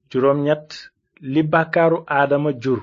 juróom ñett li bàkkaaru aadama jur.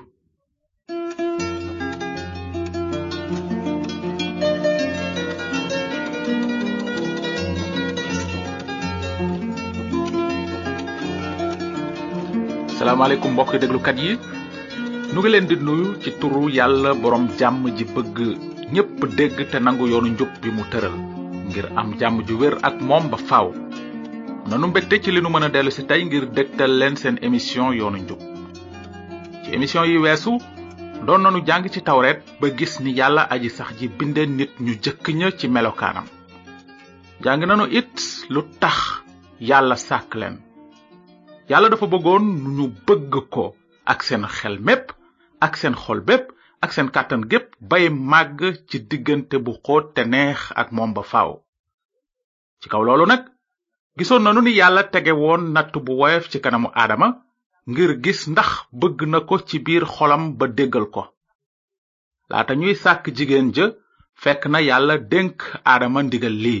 salaamaaleykum mbokk déglukat yi nu ngi leen di nuyu ci turu yàlla borom jàmm ji bëgg ñépp dégg te nangu yoonu njub bi mu tëral ngir am jàmm ju wér ak moom ba faaw. nanu mbégte ci li nu mën a dellu si tey ngir dégtal leen seen émission yoonu njub. ci émission yi weesu doon nanu jàng ci tawreet ba gis ni yàlla aji sax ji binde nit ñu jëkk ña ci melokaanam. jàng nanu it lu tax yàlla sàkk leen. yàlla dafa bëggoon ñu bëgg ko ak seen xel mépp ak seen xol bépp ak seen kàttan gépp bay màgg ci diggante bu xóot te neex ak moom ba faaw. ci kaw loolu nag gisoon nanu ni yàlla tege woon natt bu woyof ci kanamu aadama ngir gis ndax bëgg na ko ci biir xolam ba déggal ko. laata ñuy sàkk jigéen ja fekk na yàlla dénk aadama ndigal lii: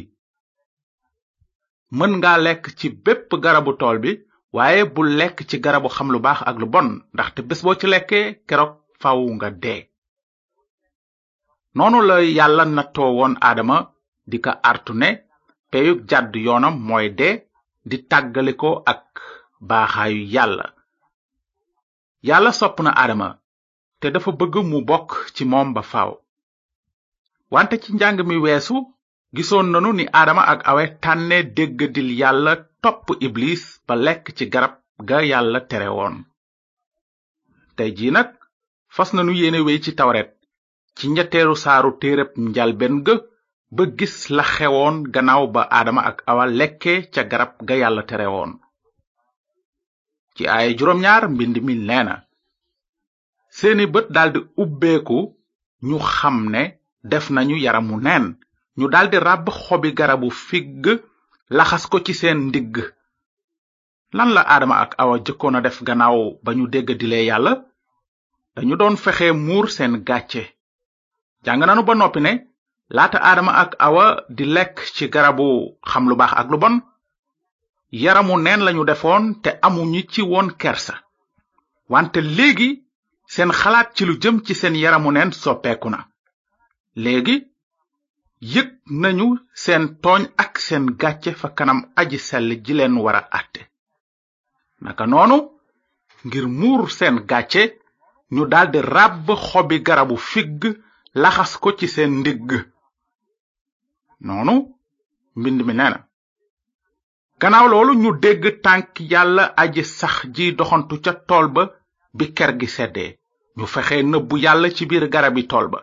mën nga lekk ci bépp garabu tool bi, waaye bu lekk ci garabu xam lu baax ak lu bon, ndaxte bés boo ci lekkee keroog faw nga dee. noonu la yàlla nattoo woon aadama di ko artu ne peyug jàdd yoonam mooy dee, di tàggaliko ak baaxaayu yàlla. yàlla sopp na aadama te dafa bëgg mu bokk ci moom ba faaw. wante ci njàng mi weesu gisoon nanu ni aadama ak awe tànne déggadil yàlla topp iblis ba lekk ci garab ga yàlla tere woon. tey jii nag fas nanu yéene wéy ci tawret ci ñetteelu saaru téereb njalben ga ba gis la xewoon gannaaw ba aadama ak awa lekke ca garab ga yàlla tere woon. ci ay juróom-ñaar mbind mi neena: seeni bët daldi ubbeeku ñu xam ne def nañu yaramu neen, ñu daldi ràbb xobi garabu figg laxas ko ci seen ndigg. lan la aadama ak awa jëkkoon a def gannaaw ba ñu déggadilee yàlla? dañu doon fexe muur seen gàcce. jàng nanu ba noppi ne laata aadama ak awa di lekk ci garabu xam lu baax ak lu bon, yaramu neen lañu defoon te amuñu ci woon kersa. wante léegi seen xalaat ci lu jëm ci seen yaramu neen soppeeku na. léegi yëg nañu seen tooñ ak seen gàcce fa kanam aji sell ji leen wara àtte. naka noonu ngir muur seen gàcce ñu daldi ràbb xobi garabu figg laxas ko ci seen ndigg. noonu mbind mi neena: gannaaw loolu ñu dégg tànk yàlla aji sax ji doxantu ca tool ba bi ker gi seddee. ñu fexe nëbbu yàlla ci biir garabi tool ba.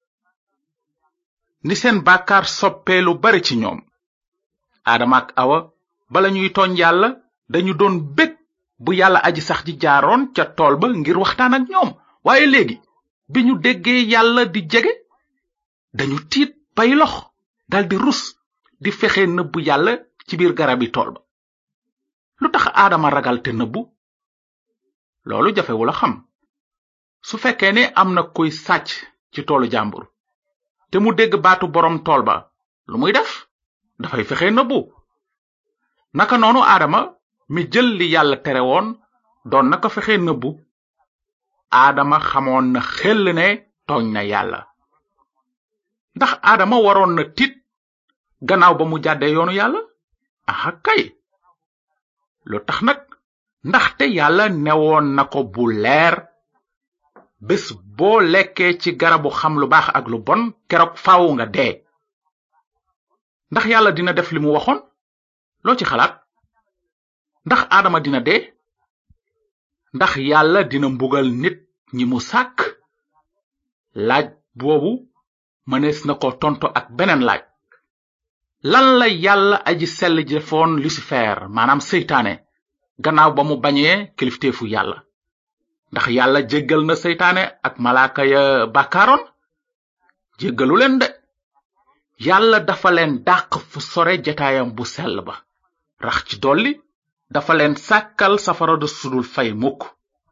ni seen bàkkaar soppee lu bari ci ñoom. aadama ak awa bala ñuy tooñ yàlla dañu doon bég bu yàlla aji sax ji jaaroon ca tool ba ngir waxtaan ak ñoom. waaye léegi bi ñu déggee yàlla di jege dañu tiit bay lox daldi rus di fexe nëbbu yàlla ci biir garabi tool ba. lu tax aadama ragal te nëbbu? loolu jafewul a xam. su fekkee ne am na kuy sàcc ci toolu jàmbur te mu dégg baatu boroom tool ba, lu muy def? dafay fexe nëbbu. naka noonu aadama mi jël li yàlla tere woon doon na ko fexe nëbbu. aadama xamoon na xel ne tooñ na yàlla. ndax aadama waroon na tiit gannaaw ba mu jàddee yoonu yàlla? aha kay. lu tax nag? ndaxte yàlla newoon na ko bu leer: bés boo lekkee ci garabu xam lu baax ak lu bon keroog faaw nga dee. ndax yàlla dina def li mu waxoon? loo ci xalaat? ndax aadama dina dee? ndax yàlla dina mbugal nit ñi mu sàkk? laaj boobu mënees na ko tonto ak beneen laaj: lan la yàlla aji sell ji defoon Lucifer, maanaam seytaane, gannaaw ba mu bañee kilifteefu yàlla? ndax yàlla jéggal na seytaane ak malaaka ya bàkkaaroon? jéggalu leen de. yàlla dafa leen dàq fu sore jataayam bu sell ba. rax ci dolli dafa leen sàkkal safara du sudul fay mukk.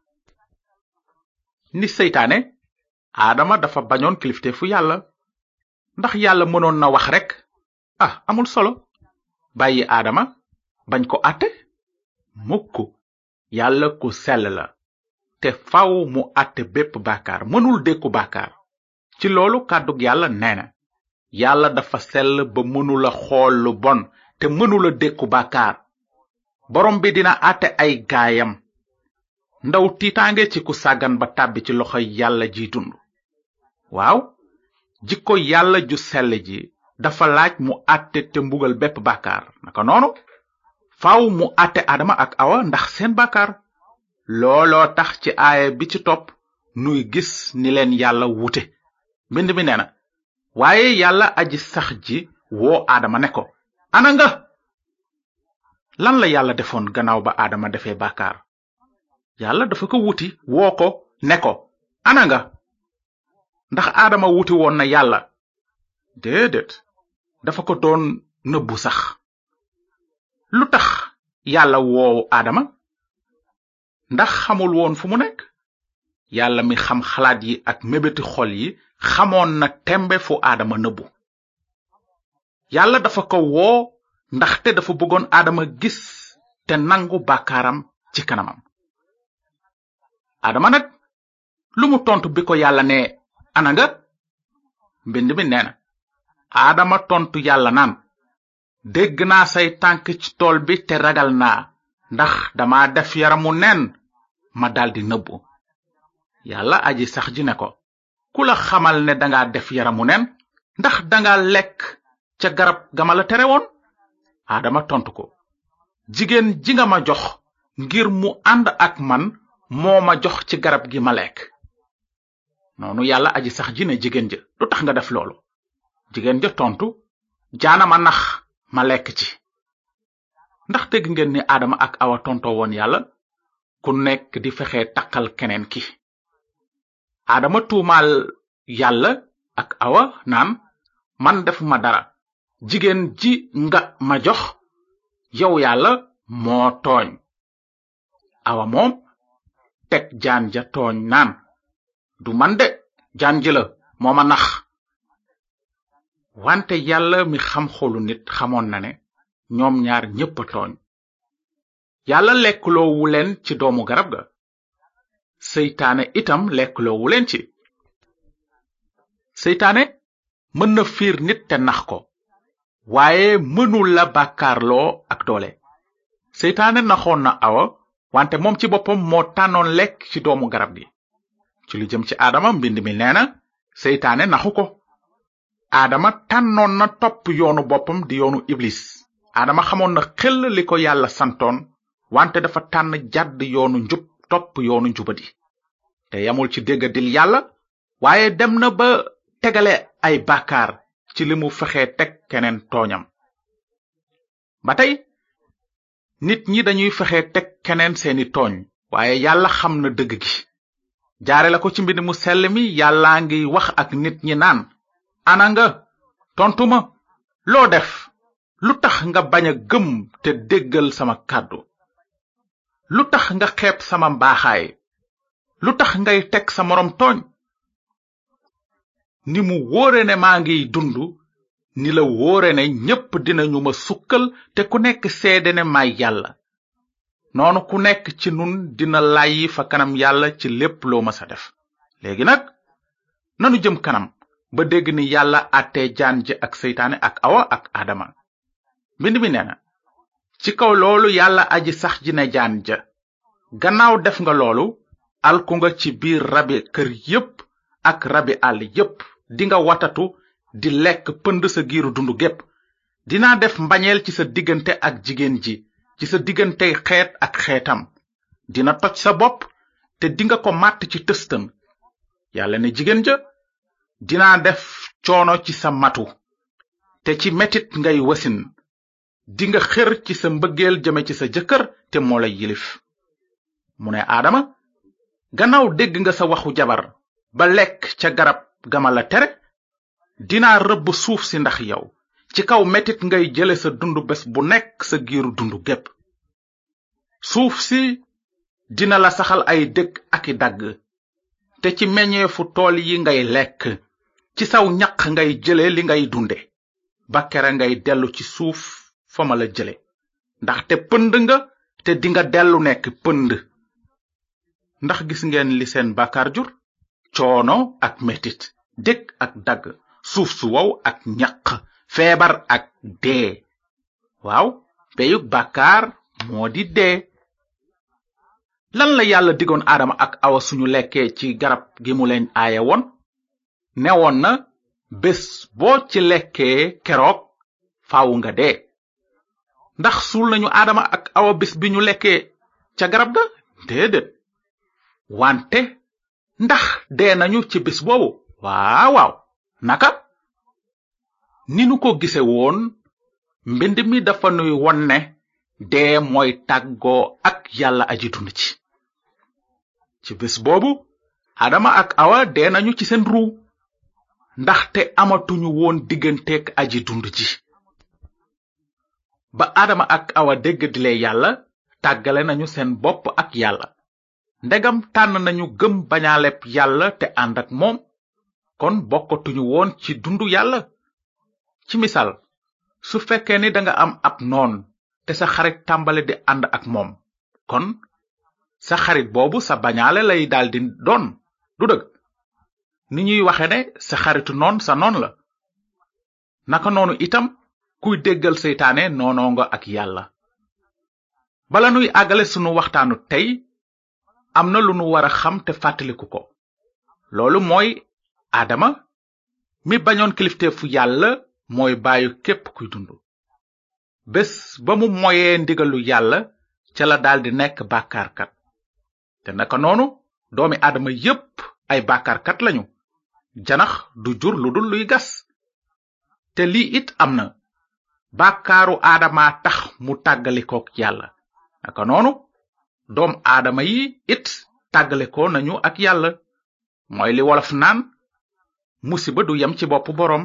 ni seytaane, aadama dafa bañoon kilifteefu yàlla. ndax yàlla mënoon na wax rekk amul solo bàyyi aadama bañ ko àtte? mukk. yàlla ku sell la te faw mu àtte bépp bàkkaar mënul dékku bàkkaar ci loolu kàddug yàlla nee na yàlla dafa sell ba mënula xool lu bon te mënula dékku bàkkaar borom bi dina àtte ay gaayam ndaw tiitaange ci ku sàggan ba tàbbi ci loxoy yàlla ji dund waaw jikko yàlla ju sell ji dafa laaj mu àtte te mbugal bépp bàkkaar naka noonu faaw mu àtte Adama ak Awa ndax seen bàkkaar looloo tax ci aaya bi ci topp nuy gis ni leen yàlla wute mbind mi nee na waaye yàlla aji sax ji woo Adama ne ko ana nga lan la yàlla defoon gannaaw ba Adama defee bàkkaar yàlla dafa ko wuti woo ko ne ko ana nga ndax Adama wuti woon na yàlla déedéet dafa ko doon nëbbu sax lu tax yàlla woowu Adama ndax xamul woon fu mu nekk yàlla mi xam xalaat yi ak mébéti xol yi xamoon na tembe fu Adama nëbbu yàlla dafa ko woo ndaxte dafa bëggoon Adama gis te nangu bàkkaaram ci kanamam Adama nag lu mu tontu bi ko yàlla ne ana nga mbind mi nee na Adama tontu yàlla naan dégg naa say tànk ci tool bi te ragal naa ndax dama def yaramu nen ma daldi nëbbu yàlla aji sax ji ne ko ku la xamal ne danga def yaramu nen ndax danga lekk ca garab gama la tere woon Adama tontu ko jigéen ji nga ma jox ngir mu ànd ak man moo ma jox ci garab gi ma lekk noonu yàlla aji sax ji ne jigéen ja lu tax nga def loolu jigéen ja tontu jaana ma nax ma lekk ci ndax dégg ngeen ni Adama ak Awa tontoo woon yàlla ku nekk di fexe takkal keneen ki Adama tuumaal yàlla ak Awa naan man defuma dara jigéen ji nga ma jox yow yàlla moo tooñ Awa moom teg jaan ja tooñ naan du man de jaan ji la moo ma nax wante yàlla mi xam xolu nit xamoon na ne ñoom ñaar ñépp a tooñ yàlla lekkloowu leen ci doomu garab ga seytaane itam lekkloowu leen ci seytaane mën na fiir nit te nax ko waaye mënul la bàkkaarloo ak doole seytaane naxoon na Awa wante moom ci boppam moo tànnoon lekk ci doomu garab gi ci lu jëm ci Adama mbind mi nee na seytaane naxu ko Adama tànnoon na topp yoonu boppam di yoonu Iblis Adama xamoon na xel li ko yàlla santoon wante dafa tànn jàdd yoonu njub topp yoonu njubadi te yamul ci déggadil yàlla waaye dem na ba tegale ay bàkkaar ci li mu fexe teg keneen tooñam ba tey nit ñi dañuy fexe teg keneen seeni tooñ waaye yàlla xam na dëgg gi jaare la ko ci mbind mu sell mi yàllaa ngi wax ak nit ñi naan ana nga tontu ma loo def lu tax nga bañ a gëm te déggal sama kàddu lu tax nga xeeb sama mbaaxaay lu tax ngay teg sa moroom tooñ ni mu wóore ne maa ngiy dund ni la wóore ne ñépp dinañu ma sukkal te ku nekk seede ne may yàlla noonu ku nekk ci nun dina layyi fa kanam yàlla ci lépp loo masa def léegi nag nanu jëm kanam ba dégg ni yàlla àttee jaan ji ak seytaane ak Awa ak Adama mbind mi nee na ci kaw loolu yàlla aji sax ji ne jaan ja gannaaw def nga loolu alku nga ci biir rabi kër yépp ak rabi àll yépp dinga watatu di lekk pënd sa giiru dundu gépp dinaa def mbañeel ci sa diggante ak jigéen ji ci sa diggante xeet ak xeetam dina toj sa bopp te dinga ko màtt ci tëstan yàlla ne jigéen ja dinaa def coono ci sa matu te ci metit ngay wasin dinga xër ci sa mbëggeel jëme ci sa jëkkër te moo lay yilif mu ne Adama gannaaw dégg nga sa waxu jabar ba lekk ca garab gama la tere dinaa rëbb suuf si ndax yow ci kaw metit ngay jële sa dundu bés bu nekk sa giiru dundu gépp suuf si dina la saxal ay dëkk ak i dagg te ci meññeefu tool yi ngay lekk ci saw ñaq ngay jële li ngay dunde ba kere ngay dellu ci suuf fa ma la jële ndaxte pënd nga te dinga dellu nekk pënd. ndax gis ngeen li seen bàkkaar jur? coono ak metit, dëkk ak dagg, suuf su wow ak ñaq, feebar ak dee. waaw, peyug bàkkaar moo di dee. lan la yàlla digoon Adama ak Awa suñu lekkee ci garab gi mu leen aaye woon? newoon na bés boo ci lekkee keroog faawu nga dee. ndax suul nañu Adama ak Awa bés bi ñu lekkee ca garab ga? déedéet. wante ndax dee nañu ci bés boobu? waaw. naka? ni nu ko gise woon, mbind mi dafa nuy won ne dee mooy tàggoo ak yàlla aji dund ci bés boobu Adama ak Awa dee nañu ci seen ruu, ndaxte amatuñu woon digganteek aji dund ji. ba Adama ak Awa déggadile yàlla, tàggale nañu seen bopp ak yàlla. ndegam tànn nañu gëm bañaaleb yàlla te ànd ak moom, kon bokkatuñu woon ci dundu yàlla. ci misaal, su fekkee ni danga am ab noon te sa xarit tàmbale di ànd ak moom, kon sa xarit boobu sa bañaale lay daldi doon, du dëgg? ni ñuy waxe ne sa xaritu noon sa noon la. naka noonu itam kuy déggal seytaane noonoo nga ak yàlla. bala nuy àggale sunu waxtaanu tey, am na lu nu wara xam te fàttaliku ko. loolu mooy Adama mi bañoon kilifteefu yàlla mooy baayu képp kuy dund. bés ba mu moyee ndigalu yàlla ca la daldi nekk bàkkaarkat. te naka noonu doomi Adama yépp ay bàkkaarkat lañu. janax du jur lu dul luy gas. te lii it am na, bàkkaaru Adama tax mu tàggalikook yàlla. naka noonu doom Adama yi it tàggalikoo nañu ak yàlla. mooy li wolof naan musiba du yem ci bopp boroom.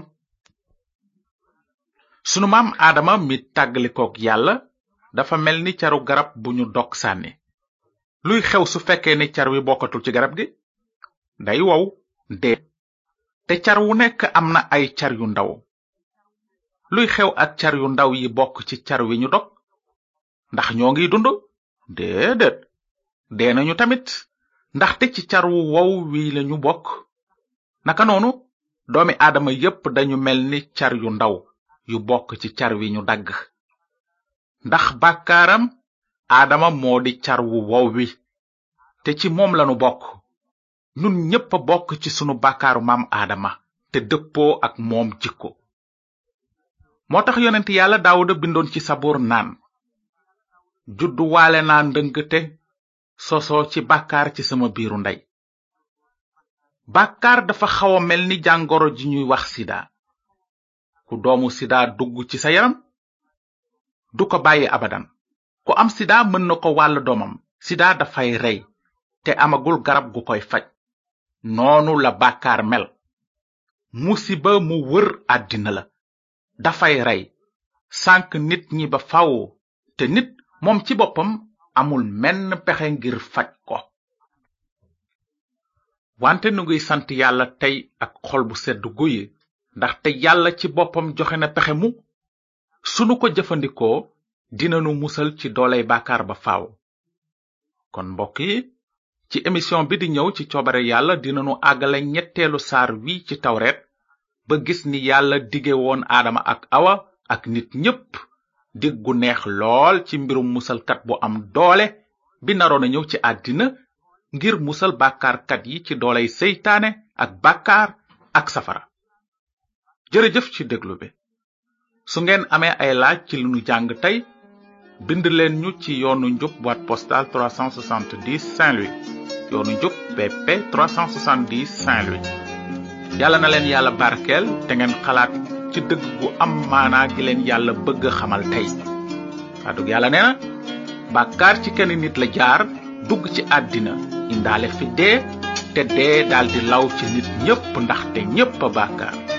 sunu maam Adama mi tàggalikook yàlla dafa mel ni caru garab bu ñu dog sànni. luy xew su fekkee ni car wi bokkatul ci garab gi? day wow, dee. te car wu nekk am na ay car yu ndaw. luy xew ak car yu ndaw yi bokk ci car wi ñu dog? ndax ñoo ngi dund? déedéet. dee nañu tamit, ndaxte ci car wu wow wi lañu bokk. naka noonu doomi Adama yépp dañu mel ni car yu ndaw yu bokk ci car wi ñu dagg. ndax bàkkaaram Adama moo di car wu wow wi, te ci moom lanu bokk. nun ñépp a bokk ci sunu bàkkaaru maam Adama te dëppoo ak moom jikko. moo tax yonent yàlla Daawuda bindoon ci sabuur naan, juddu waale naa ndëngte sosoo ci bàkkaar ci sama biiru ndey. bàkkaar dafa xaw a mel ni jàngoro ji ñuy wax sida. ku doomu sida dugg ci sa yaram du ko bàyyi abadan. ku am sida mën na ko wàll doomam. sida dafay rey te amagul garab gu koy faj. noonu la bàkkaar mel. musiba mu wër àddina la. dafay rey, sànk nit ñi ba faw, te nit moom ci boppam amul menn pexe ngir faj ko. wante nu ngiy sant yàlla tey ak xol bu sedd guy, ndaxte yàlla ci boppam joxe na pexe mu sunu ko jëfandikoo dinanu musal ci dooley bàkkaar ba faaw. kon mbokk yi, ci émission bi di ñëw ci coobare yàlla dinanu àggale ñetteelu saar wi ci tawreet ba gis ni yàlla dige woon Adama ak Awa ak nit ñépp dig gu neex lool ci mbirum musalkat bu am doole bi naroon a ñëw ci àddina ngir musal bàkkaarkat yi ci dooley seytaane ak bàkkaar ak safara. jërëjëf ci déglu bi. su ngeen amee ay laaj ci li nu jàng tey, bind leen ñu ci yoonu njub boîte postale 370 Saint-Louis. yoonu njub BP 370 Saint-Louis. yàlla na leen yàlla barkeel te ngeen xalaat ci dëgg gu am maanaa gi leen yàlla bëgg xamal tey. kàddug yàlla nee na bàkkaar ci kenn nit la jaar dugg ci àddina indaale fi dee, te dee daldi law ci nit ñépp ndaxte ñépp a bàkkaar.